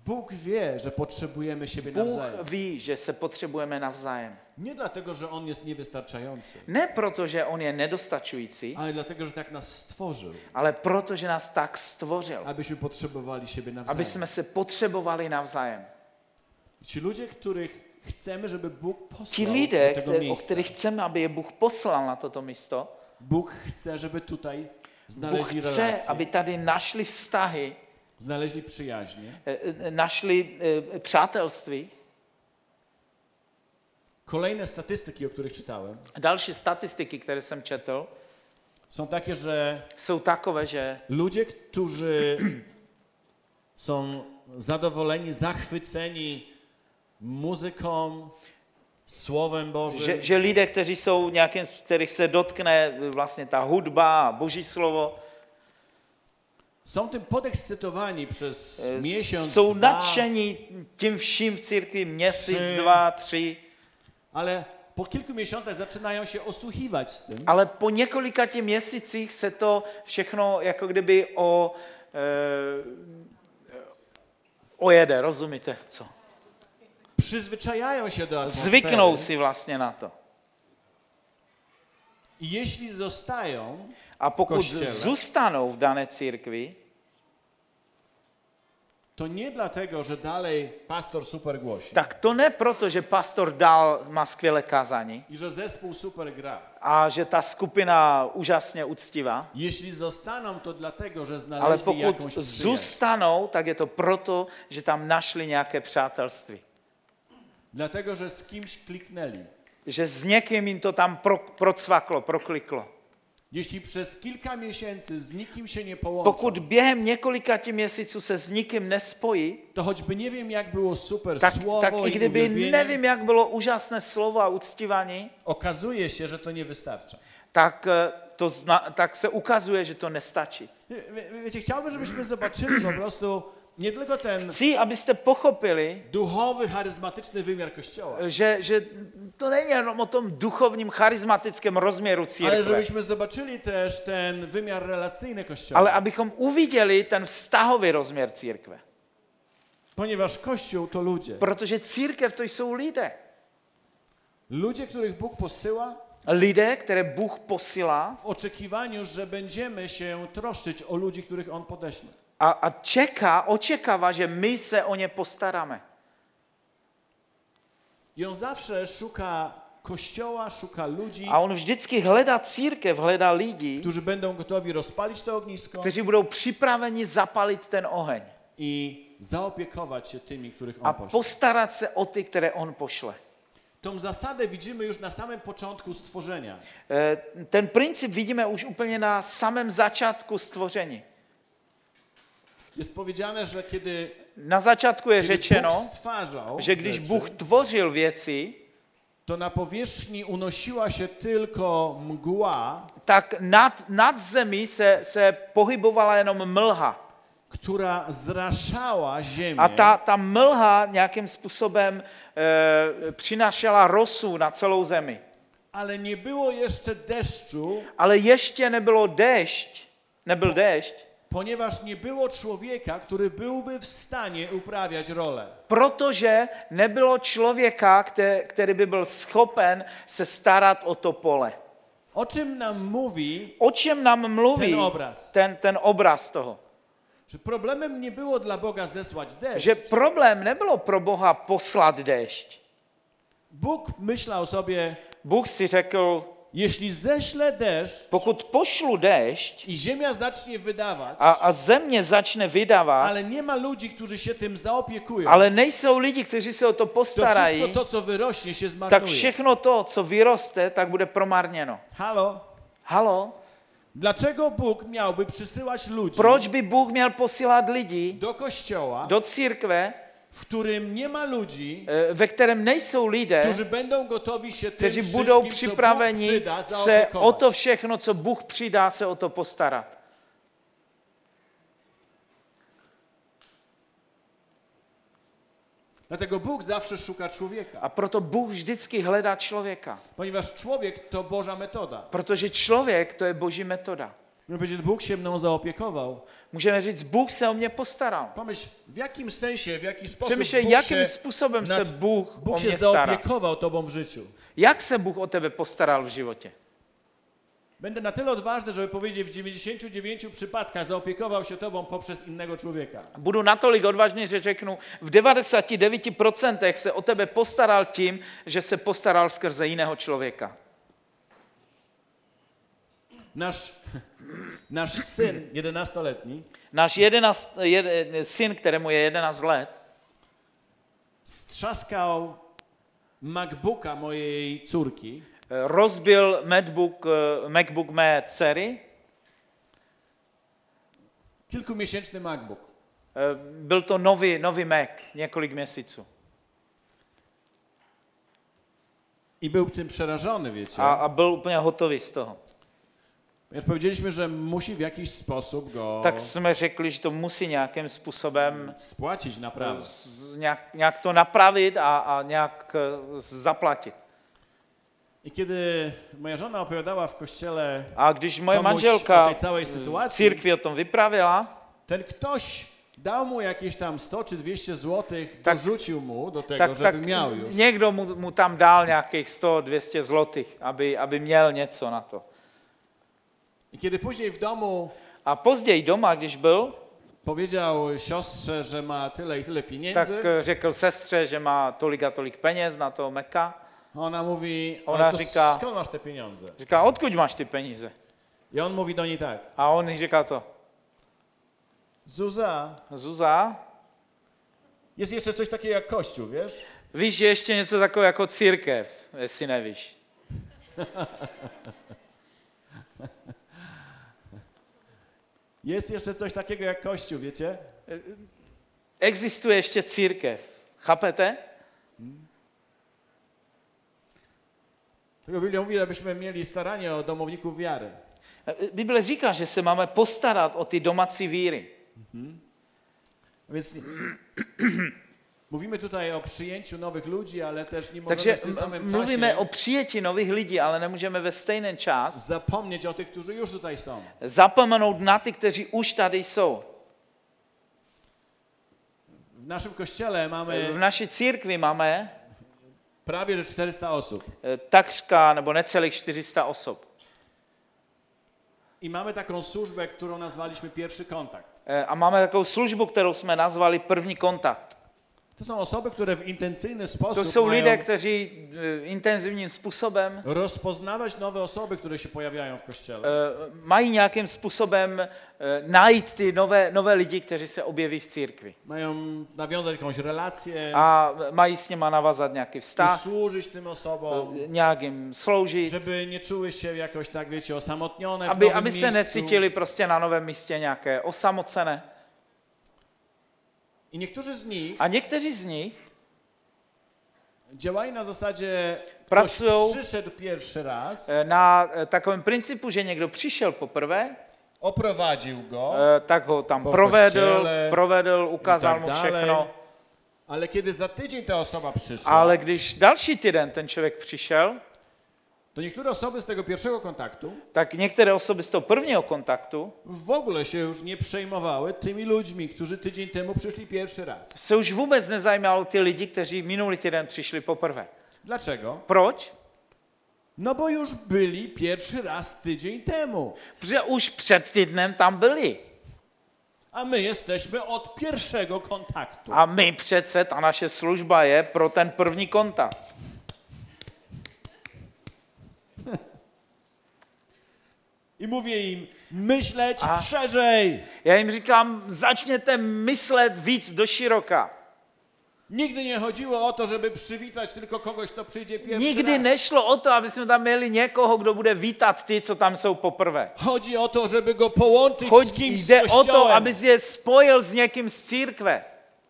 Bóg wie, że potrzebujemy siebie Bůh nawzajem. ví, že se potřebujeme navzájem. Nie dlatego, że On jest niewystarczający, Ne proto, že on je nedostačující, ale dlatego, że tak nas stworzył, ale proto, že nás tak stvořil, abyśmy potrzebowali siebie aby nawzajem. jsme se potřebovali navzájem. Ci ludzie, których chcemy, żeby Bóg Ti posłał lidé, do tego o miejsca, kterých chceme, aby je Bůh poslal na toto místo, Bóg chce, żeby tutaj Bůh znaleźli chce, relacje, aby tady našli vztahy, znaleźli przyjaźnie. našli přátelství. Kolejne statystyki, o których czytałem, Další statistiky, které jsem četl, są takie, że jsou takové, že ludzie, którzy są zadowoleni, zachwyceni muzyką, Słowem Bożym, že lidé, kteří jsou nějakým, kterých se dotkne vlastně ta hudba, Boží slovo, są tym podekscytowani przez miesiąc, jsou dwa, nadšení tím vším v církvi měsíc, 3. 2, 3, ale po kilku miesiącach zaczynają się osłuchiwać z tym, ale po několika těch měsících se to všechno jako kdyby ojede, rozumíte co? przyzwyczajają się do atmosfery. Zvyknou si vlastně na to. I jeśli zostają, A pokud kościele. zůstanou v dané církvi, to nie dlatego, że dalej pastor super głosi tak to ne proto, že pastor dál má skvělé kázání i że zespół super gra. a že ta skupina úžasně uctivá, Jeśli zostaną, to dlatego, że ale znaleźli pokud jakąś przyjaźń. zůstanou, tak je to proto, že tam našli nějaké přátelství. Dlatego, że z kimś kliknęli. Že s někým jim to tam procvaklo, prokliklo. Jeśli przez kilka miesięcy z nikim się nie połączą, Pokud během několika měsíců se s nikým nespojí, to choćby nie wiem, jak było super tak słowo i i kdyby uwielbienie, nevím, jak bylo úžasné slovo a uctívání, okazuje się, że to nie wystarcza. tak se ukazuje, že to nestačí. Wiecie, chciałbym, żebyśmy zobaczyli po prostu nie tylko ten Chci, abyste pochopili, duchowy, charyzmatyczny wymiar Kościoła, že to není jenom o tom duchovním, charismatickém rozměru ale církve, żebyśmy zobaczyli też ten wymiar relacyjny Kościoła. ale abychom uviděli ten vztahový rozměr církve. Ponieważ Kościół to ludzie. Protože církev to jsou lidé. Ludzie, których Bóg posyła Lidé, které Bůh posílá w oczekiwaniu, że będziemy się troszczyć o ludzi, których On podeśle. a očekává, že my se o ně postaráme. I On zawsze szuka Kościoła, szuka ludzi, A on vždycky hledá církev, hledá lidi, którzy będą gotowi rozpalić to ognisko kteří budou připraveni zapalit ten oheň i zaopiekować się tymi, których a On pośle. postarat se o ty, které on pošle. Tą zasadę widzimy już na samym początku stworzenia. Ten princip vidíme už úplně na samém začátku stvoření. Jest powiedziane, że kiedy Na začátku je Bóg řečeno, stwarzał že když rzeczy, Bůh tvořil věci, to na powierzchni unosiła się tylko mgła, tak nad zemí se pohybovala jenom mlha. która zraszała ziemię A ta mlha nějakým způsobem přinášela rosu na celou zemi. ale nie było jeszcze deszczu, Ale ještě nebyl déšť, ponieważ nie było człowieka, który byłby w stanie uprawiać rolę. protože nebylo člověka, který by byl schopen se starat o to pole. O czym nam mówi, O čem nám mluví Ten obraz. ten obraz toho? że problemem nie było dla Boga zesłać deszcz. Že problém nebylo pro Boha poslat déšť. Bóg myślał sobie, Bůh si řekl, jeśli ześlę deszcz pokud pošlu déšť i ziemia zacznie wydawać, a země začne vydávat, ale nie ma ludzi, którzy się tym zaopiekują, ale nejsou lidi, kteří se o to to postarají, wszystko to, co wyrośnie, się tak zmarnuje. všechno to, co vyroste, tak bude promarněno. Halo? Halo? Dlaczego Bóg miałby przysyłać ludzi Proč by Bůh měl posílat lidi do kościoła, do církve, w którym nie ma ludzi, ve kterém nejsou lidé, którzy będą gotowi się tym kteří budou wszystkim, co Bóg připraveni przyda, se zaopiekować? o to všechno, co Bůh přidá, se o to postarat. Dlatego Bóg zawsze szuka człowieka, A proto Bůh vždycky hledá člověka. ponieważ człowiek to Boża metoda. Protože člověk to je boží metoda. Můžeme powiedzieć, Bóg się mną zaopiekował. Můžeme říct, Bůh se o mě postaral. Pomyśl, w jakim sensie, w jaki sposób Přemýšlej, jakým způsobem se Bůh o Bóg się mě stará. zaopiekował tobą w życiu. Jak se Bůh o tebe postaral v životě? Będę na tyle odważny, żeby powiedzieć, w 99 przypadkach zaopiekował się tobą poprzez innego człowieka. Budu natolik odvážný, že řeknu, v 99% se o tebe postaral tím, že se postaral skrze jiného člověka. Nasz syn, 11-letni, Náš syn, kterému je 11 let, strzaskał MacBooka mojej córki. rozbil MacBook mé dcery. Kilkumiesięczny MacBook. Byl to nový Mac, několik měsíců. I był tym przerażony, wiecie. A byl úplně hotový z toho. Ponieważ powiedzieliśmy, że musi w jakiś sposób go Tak jsme řekli, že to musí nějakým způsobem spłacić naprawę. nějak to napravit a nějak zaplatit. I kiedy moja żona opowiadała w kościele A když moje komuś manželka o tej całej v sytuacji, církvi o tom vyprávěla, ten ktoś dał mu jakieś tam 100 czy 200 złotych, Tak- dorzucił mu do tego, tak żeby miał już. někdo mu tam dal nějakých 100-200 zlotých, aby měl něco na to. I kiedy później w domu A později doma, když byl, powiedział siostrze, że ma tyle i tyle tak pieniędzy, řekl sestře, že má tolik a tolik peněz na toho Meka. ona mówi, Ona ale to říká- skąd masz te pieniądze? Říká, odkud máš ty peníze? I on mówi do niej tak, A on jí říká to, Zuza, Zuza, jest jeszcze coś takiego jak Kościół, wiesz? víš, že ještě něco takové jako církev, jestli nevíš. Jest jeszcze coś takiego jak Kościół, wiecie? Existuje ještě církev. Chápete? Tylko Biblia mówi, abyśmy mieli staranie o domowników wiary. Bible říká, že se máme postarat o ty domácí víry. Więc mówimy tutaj o przyjęciu nowych ludzi, ale też nie możemy Takže w tym samym mluvíme czasie o přijetí nových lidí, ale nemůžeme ve stejný čas zapomnieć o tych, którzy już tutaj są. zapomenout na ty, kteří už tady jsou. W naszym kościele mamy V naší církvi máme prawie że 400 osób. takřka nebo necelých 400 osob. I mamy taką służbę, którą nazwaliśmy pierwszy kontakt. A máme takovou službu, kterou jsme nazvali první kontakt. To są osoby, które w intencyjny To sposób jsou lidé, mają kteří intenzivním způsobem rozpoznawać nowe osoby, które się pojawiają w kościele. mají nějakým způsobem najít ty nové lidi, kteří se objeví v církvi. Mają nawiązać jakąś relację, A mají s nima navázat nějaký vztah, usłużyć tym osobom, nějak jim sloužit, żeby nie czuły się jakoś tak, wiecie, osamotnione w aby nowym se miejscu. necítili prostě na novém místě nějaké osamocené. I niektórzy z nich A někteří z nich działali na zasadzie, Pracują- ktoś przyszedł pierwszy raz, na takovém principu, že někdo přišel poprvé, oprowadził go, tak ho tam Po provedl, kościele ukázal i mu tak všechno. dalej. Ale kiedy za tydzień ta osoba przyszła, Ale když další týden ten člověk přišel, to niektóre osoby z tego pierwszego kontaktu tak některé osoby z toho prvního kontaktu w ogóle się już nie przejmowały tymi ludźmi, którzy tydzień temu przyszli pierwszy raz. se už vůbec nezajímalo ty lidi, kteří minulý týden přišli poprvé. Dlaczego? Proč? No bo już byli pierwszy raz tydzień temu, Protože už před týdnem tam byli. a my jesteśmy od pierwszego kontaktu. A my přece, ta naše služba je pro ten první kontakt. I mówię im, myśleć A. szerzej. Já jim říkám, začněte myslet víc do široka. Nigdy nie chodziło o to, żeby przywitać tylko kogoś, kto przyjdzie pierwszy Nikdy raz. nešlo o to, aby jsme tam měli někoho, kdo bude vítat ty, co tam jsou poprvé. Chodzi o to, żeby go połączyć z kimś z Jde o to, kościołem. aby je spojil s někým z církve.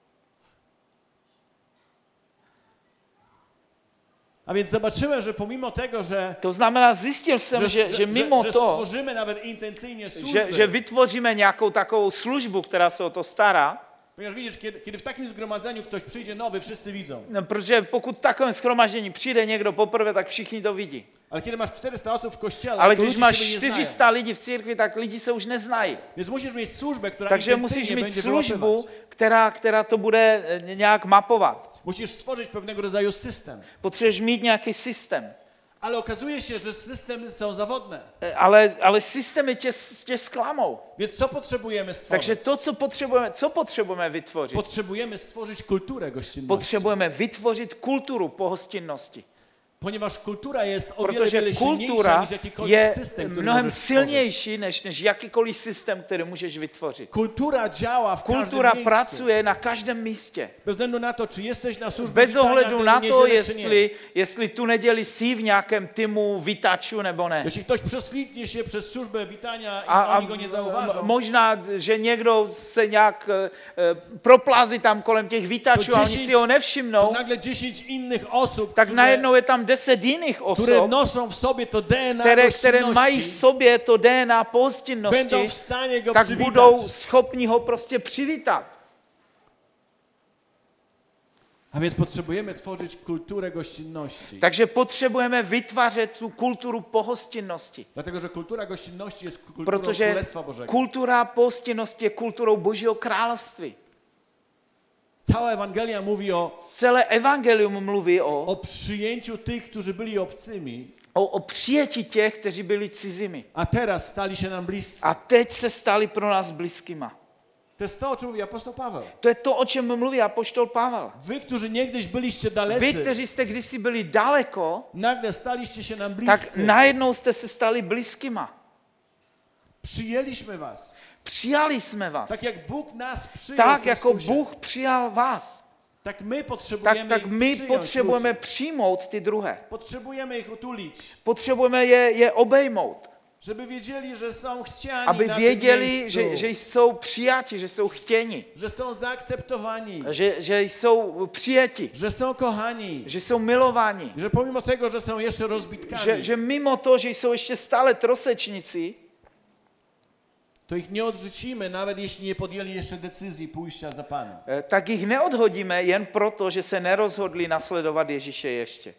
A więc zobaczyłem, że pomimo tego, że To znamená, zjistil jsem, že mimo że to, stworzymy nawet intencyjnie służby, že vytvoříme nějakou takovou službu, která se o to stará, Ponieważ widzisz, kiedy w takim zgromadzeniu ktoś przyjdzie nowy, wszyscy widzą. No, protože pokud v takovém shromaždění přijde někdo poprvé, tak všichni to vidí. Ale kiedy masz 400 osób w kościele, Ale to když ludzie máš siebie nie znają. 400 lidí v církvi, tak lidi se už neznají. Więc musisz mieć służbę, która Takže ich musíš intencyjnie mít będzie službu, wyłapywać. která to bude nějak mapovat. Musisz stworzyć pewnego rodzaju system. Potřebuješ mít nějaký systém. Ale okazuje się, że systemy są zawodne. Ale systémy tě zklamou. Więc co potrzebujemy stworzyć? Takže to, co potřebujeme vytvořit? Potrzebujemy stworzyć kulturę gościnności. Potřebujeme vytvořit kulturu pohostinnosti. Ponieważ kultura jest o wiele, Protože wiele silniejsza kultura niż jakikolwiek je system, który mnohem możesz stworzyć. silnější než jakýkoliv systém, který můžeš vytvořit. Kultura działa w Kultura każdym miejscu. pracuje na každém místě. Bez względu na to, czy jesteś na służbě Bez witania ohledu tę na to, niedzielę, czy nie. jestli tu neděli jsi v nějakém týmu vítačů nebo ne. Jeśli ktoś prześwitnie się przez służbę witania i A oni go nie zauważą, možná, že někdo se nějak proplazí tam kolem těch vítačů a oni si ho to nevšimnou, nagle 10 innych osób, tak najednou je tam 10 jiných które osob, noszą w sobie to DNA které mají v gościnności, sobě to DNA pohostinnosti, będą w stanie go tak przywitać. budou schopni ho prostě přivítat. A więc potrzebujemy tworzyć kulturę gościnności. Takže potřebujeme vytvářet tu kulturu pohostinnosti. Dlatego, że kultura gościnności jest kulturą Protože Królestwa Bożego. kultura pohostinnosti je kulturou Božího království. Cała Ewangelia mówi Celé evangelium mluví o przyjęciu tych, którzy byli obcymi, o přijetí těch, kteří byli cizími. a teraz stali się nam bliscy. A teď se stali pro nás blízkýma. To jest to, o czym mówi apostoł Paweł. To je to, o čem mluví apoštol Pavel. Wy, którzy niegdyś byliście Vy, dalecy, kteří jste kdysi byli daleko, nagle staliście się nam tak bliscy. najednou jste se stali blízkýma. Przyjęliśmy was. Přijali jsme vás. Tak jak Bóg nas przyjął Tak w jako Chrystusie, Bůh přijal vás, tak my potrzebujemy tak ich my przyjąć potřebujeme ludzi. přijmout ty druhé. Potrzebujemy ich utulić, Potřebujeme je obejmout, żeby wiedzieli, że są chciani aby na tym věděli, miejscu, že jsou přijati, že jsou chtěni, że są zaakceptowani, že jsou přijati, że są kochani, že jsou milováni, że pomimo tego, że są jeszcze rozbitkami, že mimo to, že jsou ještě stále trosečníci, to ich nie odrzucimy, nawet jeśli nie podjęli jeszcze decyzji pójścia za Panem. tak jich neodhodíme jen proto, že se nerozhodli nasledovat Ježíše ještě.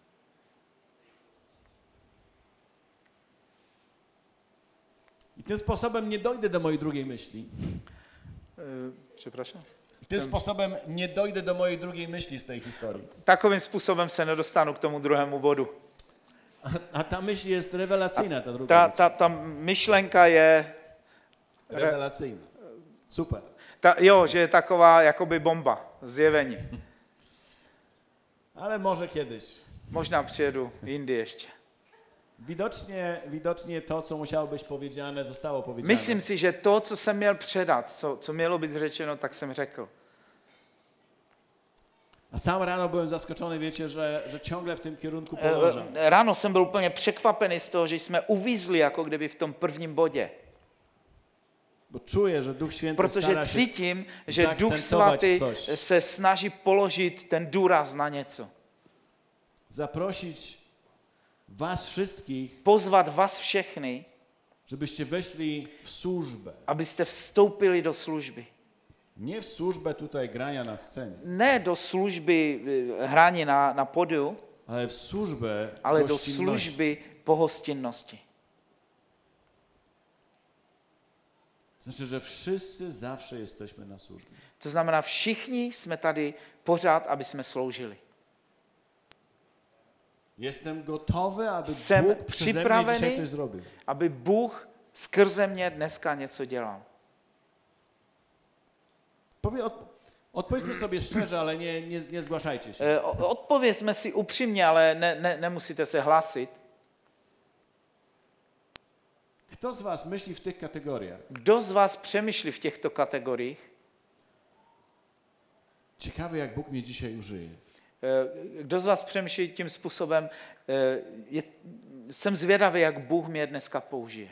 I tym sposobem nie dojdę do mojej drugiej myśli. Przepraszam? I tym sposobem nie dojdę do mojej drugiej myśli z tej historii. Takovým způsobem se nedostanu k tomu druhému bodu. A ta myśl jest rewelacyjna, ta druga myśl. Ta myšlenka je, Rewelacyjna. Super. že je taková jakoby bomba, zjevení. Ale może kiedyś. Možná přijedu jindy ještě. Widocznie to, co musiało być powiedziane, zostało powiedziane. Myslím si, že to, co jsem měl předat, co mělo být řečeno, tak jsem řekl. A sam rano byłem zaskoczony, wiecie, że ciągle w tym kierunku podążam. Ráno jsem byl úplně překvapený z toho, že jsme uvízli jako kdyby v tom prvním bodě. Bo czuję, że Duch Święty Protože stara się cítím, že Duch zaakcentować Svatý coś. se snaží položit ten důraz na něco. Zaprosić was wszystkich, Pozvat vás všechny, żebyście weszli w służbę. abyste vstoupili do služby. Nie w służbę tutaj grania na scenie, Ne do služby hraní na podiu, ale w służbę ale do gościnności. služby pohostinnosti. Znaczy, że wszyscy zawsze jesteśmy na służbie. To znamená, všichni jsme tady pořád, aby jsme sloužili. Jestem gotowy, aby Jsem Bóg przeze mnie připravený, dzisiaj coś zrobił. aby Bůh skrze mě dneska něco dělal. Odpowiedzmy sobie szczerze, ale nie zgłaszajcie się. Odpovězme si upřímně, ale nemusíte se hlásit. Kto z was myśli w tych kategoriach? Kdo z vás přemýšlí v těchto kategoriích? Ciekawe, jak Bóg mnie dzisiaj użyje. Kdo z vás přemýšlí tím způsobem, jsem zvědavý, jak Bůh mě dneska použije.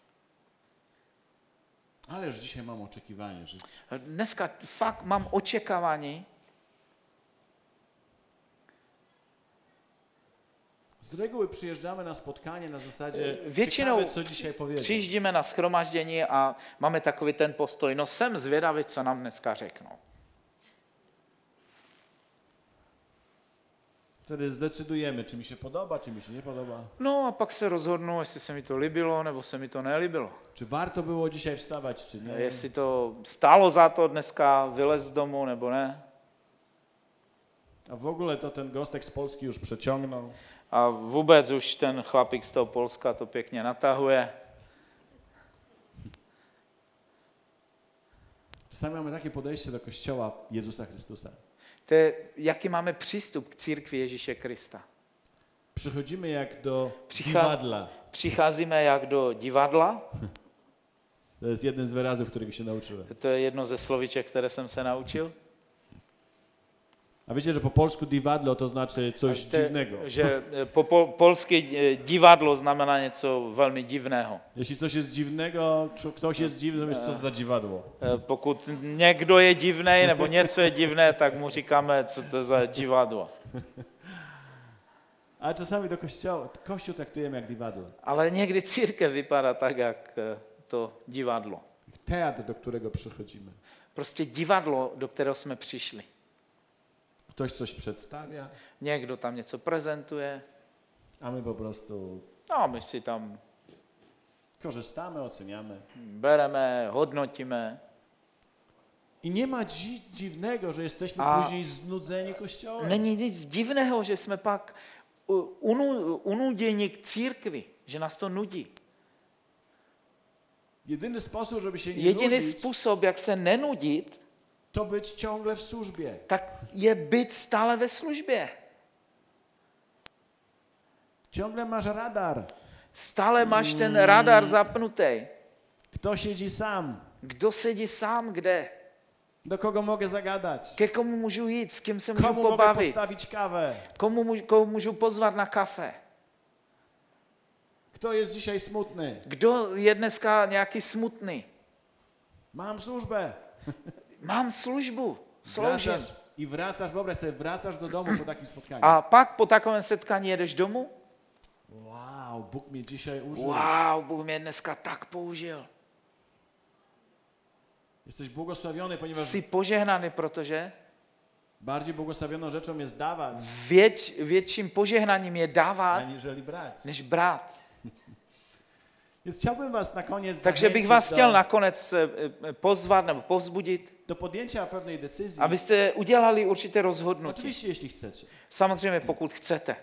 Ależ dzisiaj mam oczekiwanie, że Dneska fakt mám očekávání, Z reguły przyjeżdżamy na spotkanie na zasadzie Většinou ciekawe, co dzisiaj powiedzą. přijíždíme na shromaždění a máme takový ten postoj, no jsem zvědavý, co nám dneska řeknou. Wtedy zdecydujemy, czy mi się podoba, czy mi się nie podoba. No a pak se rozhodnu, jestli se mi to líbilo, nebo se mi to nelíbilo. Czy warto było dzisiaj wstawać, czy nie. Jestli to stálo za to dneska vylez z domu, nebo ne. A w ogóle to ten gostek z Polski już przeciągnął. A vůbec už ten chlapík z toho Polska to pěkně natahuje. Czasami mamy takie podejście do Kościoła Jezusa Chrystusa. To je, jaký máme přístup k církvi Ježíše Krista. Przychodzimy jak do dziwadla. Přicházíme jak do divadla, To jest jeden z wyrazów, którego się nauczyłem. to je jedno ze slovíček, které jsem se naučil. A wiecie, że po polsku divadlo to znaczy coś dziwnego. Že polské divadlo znamená něco velmi divného. Jeśli coś jest dziwnego, czy ktoś jest dziwny, to wiesz, co za dziwadło. Pokud někdo je divný nebo něco je divné, tak mu říkáme, co to je za divadlo. Ale czasami do Kościół traktujemy jak divadlo. Ale někdy církev vypadá tak, jak to divadlo. Teatr, do którego przychodzimy. Prostě divadlo, do kterého jsme přišli. Ktoś coś przedstawia, Někdo tam něco prezentuje, a my po prostu no my si tam korzystamy, oceniamy. bereme, hodnotíme. I nie ma nic dziwnego, że jesteśmy A później znudzeni Kościołem. Není nic divného, že jsme pak unuděni k církvi, že nás to nudí. Jedyny sposób, żeby się nie Jediný nudzić, způsob, jak se nenudit, to być ciągle w służbie. tak je být stále ve službě. Ciągle masz radar. Stále máš ten radar zapnutý. Kto siedzi sam? Kdo sedí sám kde? Do kogo mogę zagadać? Ke komu můžu jít? S kým se můžu Komu mogę pobavit? postawić kawę? Komu můžu pozvat na kafe? Kto jest dzisiaj smutny? Kdo je dneska nějaký smutný? Mam służbę. Mám službu, sloužím. Wracasz, wyobraź sobie, wracasz do domu po takim spotkaniu. A pak po takovém setkání jedeš domů? Wow, Bóg mnie dzisiaj użył. Wow, Bůh mě dneska tak použil. Jesteś błogosławiony, ponieważ Jsi požehnaný, protože bardziej błogosławioną rzeczą jest dawać, větším požehnaním je dávat, aniżeli brać. než brát. Więc chciałbym was na koniec Takže bych zachęcić vás chtěl nakonec pozvat nebo povzbudit, do podjęcia pewnej decyzji. abyste udělali určité rozhodnutí. Oczywiście, jeśli chcecie. Samozřejmě, pokud chcete.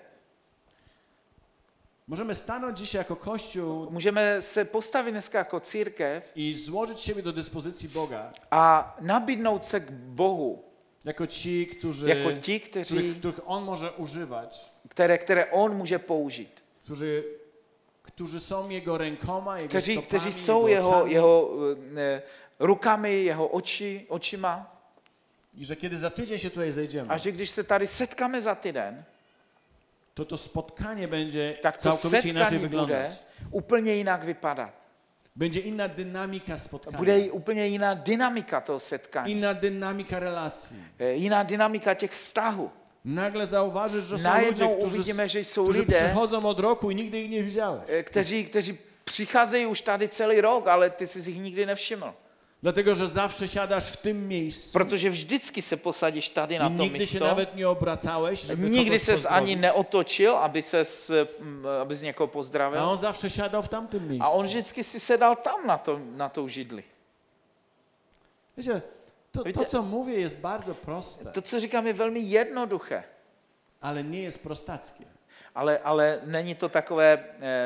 Możemy stanąć dzisiaj jako Kościół Můžeme se postavit dneska jako církev i złożyć siebie do dyspozycji Boga, a nabídnout se k Bohu, jako ci, jako ti, których On może używać, které on může použít. którzy są Jego rękoma, Jego Kteří stopami, jsou oczami. jeho rukami, jeho očima. I że kiedy za tydzień się tutaj zejdziemy, A že když se tady setkáme za týden, to spotkanie będzie tak to całkowicie inaczej setkání bude wyglądać. úplně jinak vypadat. Będzie inna dynamika spotkania, Bude úplně jiná dynamika toho setkání. inna dynamika relacji. Jiná dynamika těch vztahů. Nagle zauważysz, że są Najednou ludzie, uvidíme, že jsou którzy lidé, przychodzą od roku i nigdy ich nie widziałeś. kteří přicházejí už tady celý rok, ale ty jsi jich nikdy nevšiml. Dlatego, że zawsze siadasz w tym miejscu Protože vždycky se posadíš tady na i to nigdy się místo. nawet nie obracałeś, żeby Nikdy kogoś ses ani pozdrowić. neotočil, abys někoho A pozdravil. on zawsze siadał w tamtym miejscu. A on vždycky si sedal tam na tou židli. Wiecie, to, Víte- co mówię, jest bardzo proste, To, co říkám, je velmi jednoduché, ale nie jest prostackie. ale není to takové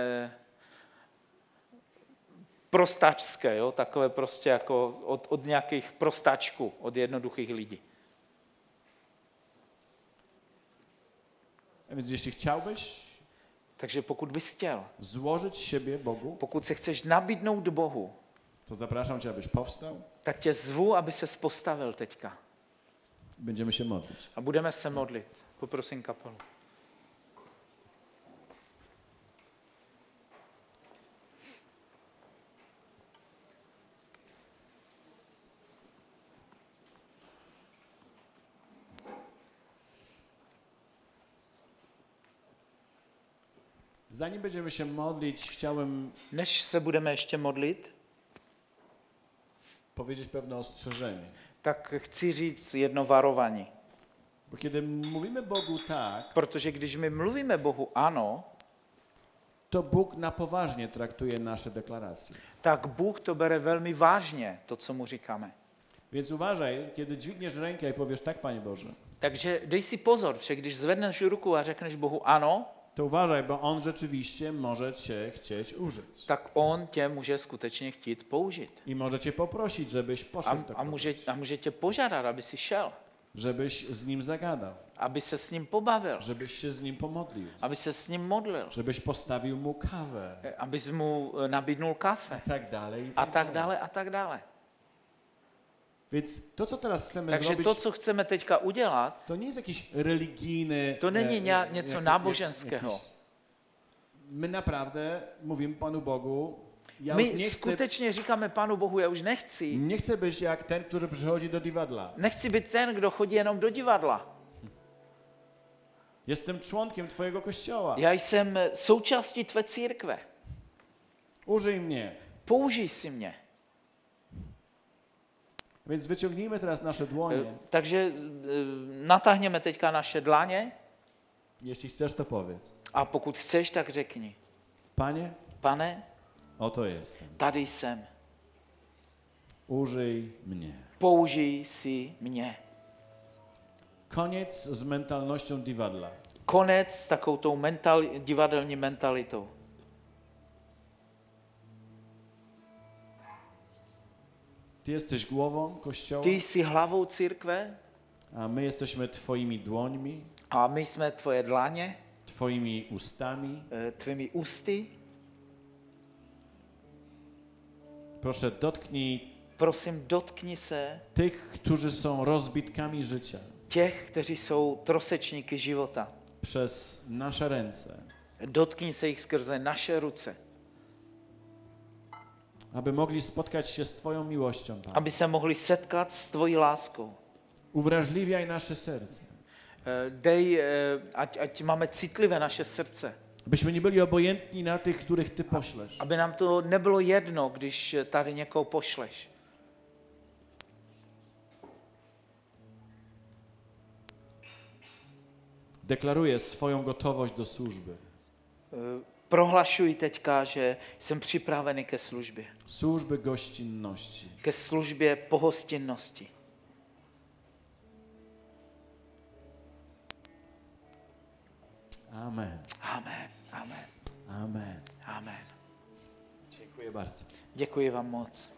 prostačské, jo? Takové prostě jako od nějakých prostačků, od jednoduchých lidí. A więc jeśli chciałbyś Takže pokud bys chtěl, złożyć siebie Bogu, pokud se chceš nabídnout Bohu, to zapraszam cię, abyś powstał. tak tě zvu, aby ses postavil teďka. Będziemy się modlić. A budeme se modlit. Poprosím kapelu. Zanim będziemy się modlić, chciałem Než se budeme ještě modlit, powiedzieć pewne ostrzeżenie. tak chci říct jedno varování. Bo kiedy mówimy Bogu tak, Protože když my mluvíme Bohu ano, to Bóg na poważnie traktuje nasze deklaracje. tak Bůh to bere velmi vážně, to, co mu říkáme. Więc uważaj, kiedy dźwigniesz rękę i powiesz tak, Panie Boże, Takže dej si pozor, že když zvedneš ruku a řekneš Bohu ano, to uważaj, bo On rzeczywiście może Cię chcieć użyć. tak on tě může skutečně chtít použít. I może Cię poprosić, żebyś poszedł do kogoś, A může tě požádat, aby si šel, żebyś z Nim zagadał, aby se s ním pobavil, żebyś się z Nim pomodlił, aby se s ním modlil, żebyś postawił Mu kawę abys mu nabídnul kafe i tak dalej. a tak dále a tak dále. Więc to, co teraz chcemy Takže zrobić, to, co chceme teďka udělat, to nie jest jakiś religijny... to není něco náboženského. My naprawdę mówimy Panu Bogu, ja My już nie chcę, skutečně říkáme Pánu Bohu, já už nechci. nie chcę być jak ten, który przychodzi do divadla. Nechci být ten, kdo chodí jenom do divadla. Jestem członkiem Twojego kościoła. Já jsem součástí tvé církve. Użyj mnie. Použij si mě. Więc wyciągnijmy teraz nasze dłonie. Takže natáhněme teďka naše dlaně Jeśli chcesz, to powiedz. a pokud chceš, tak řekni. Panie, Pane, oto jestem. tady jsem. Użyj mnie. Použij si mě. Koniec z mentalnością divadla. Konec s takovou tou divadelní mentalitou. Ty jesteś głową kościoła, Ty jsi hlavou církve a my jesteśmy Twoimi dłońmi, a my jsme tvoje dlaně, Twoimi ustami. tvými ústy. Proszę, dotknij Prosím, dotkni se tych, którzy są rozbitkami życia těch, kteří jsou trosečníky života. przez nasze ręce, Dotkni se jich skrze naše ruce, aby mogli spotkać się z Twoją miłością, Panie. aby se mohli setkat s tvojí láskou. Uwrażliwiaj nasze serce, Dej, ať máme citlivé naše srdce. byśmy nie byli obojętni na tych, których Ty poślesz. Aby nám to nebylo jedno, když tady někoho pošleš. Deklaruję swoją gotowość do służby. Prohlašuji teďka, že jsem připravený ke službě. Służby gościnności. Ke službě pohostinnosti. Amen. Amen, amen, Amen. amen. Dziękuję bardzo. Děkuji vám moc.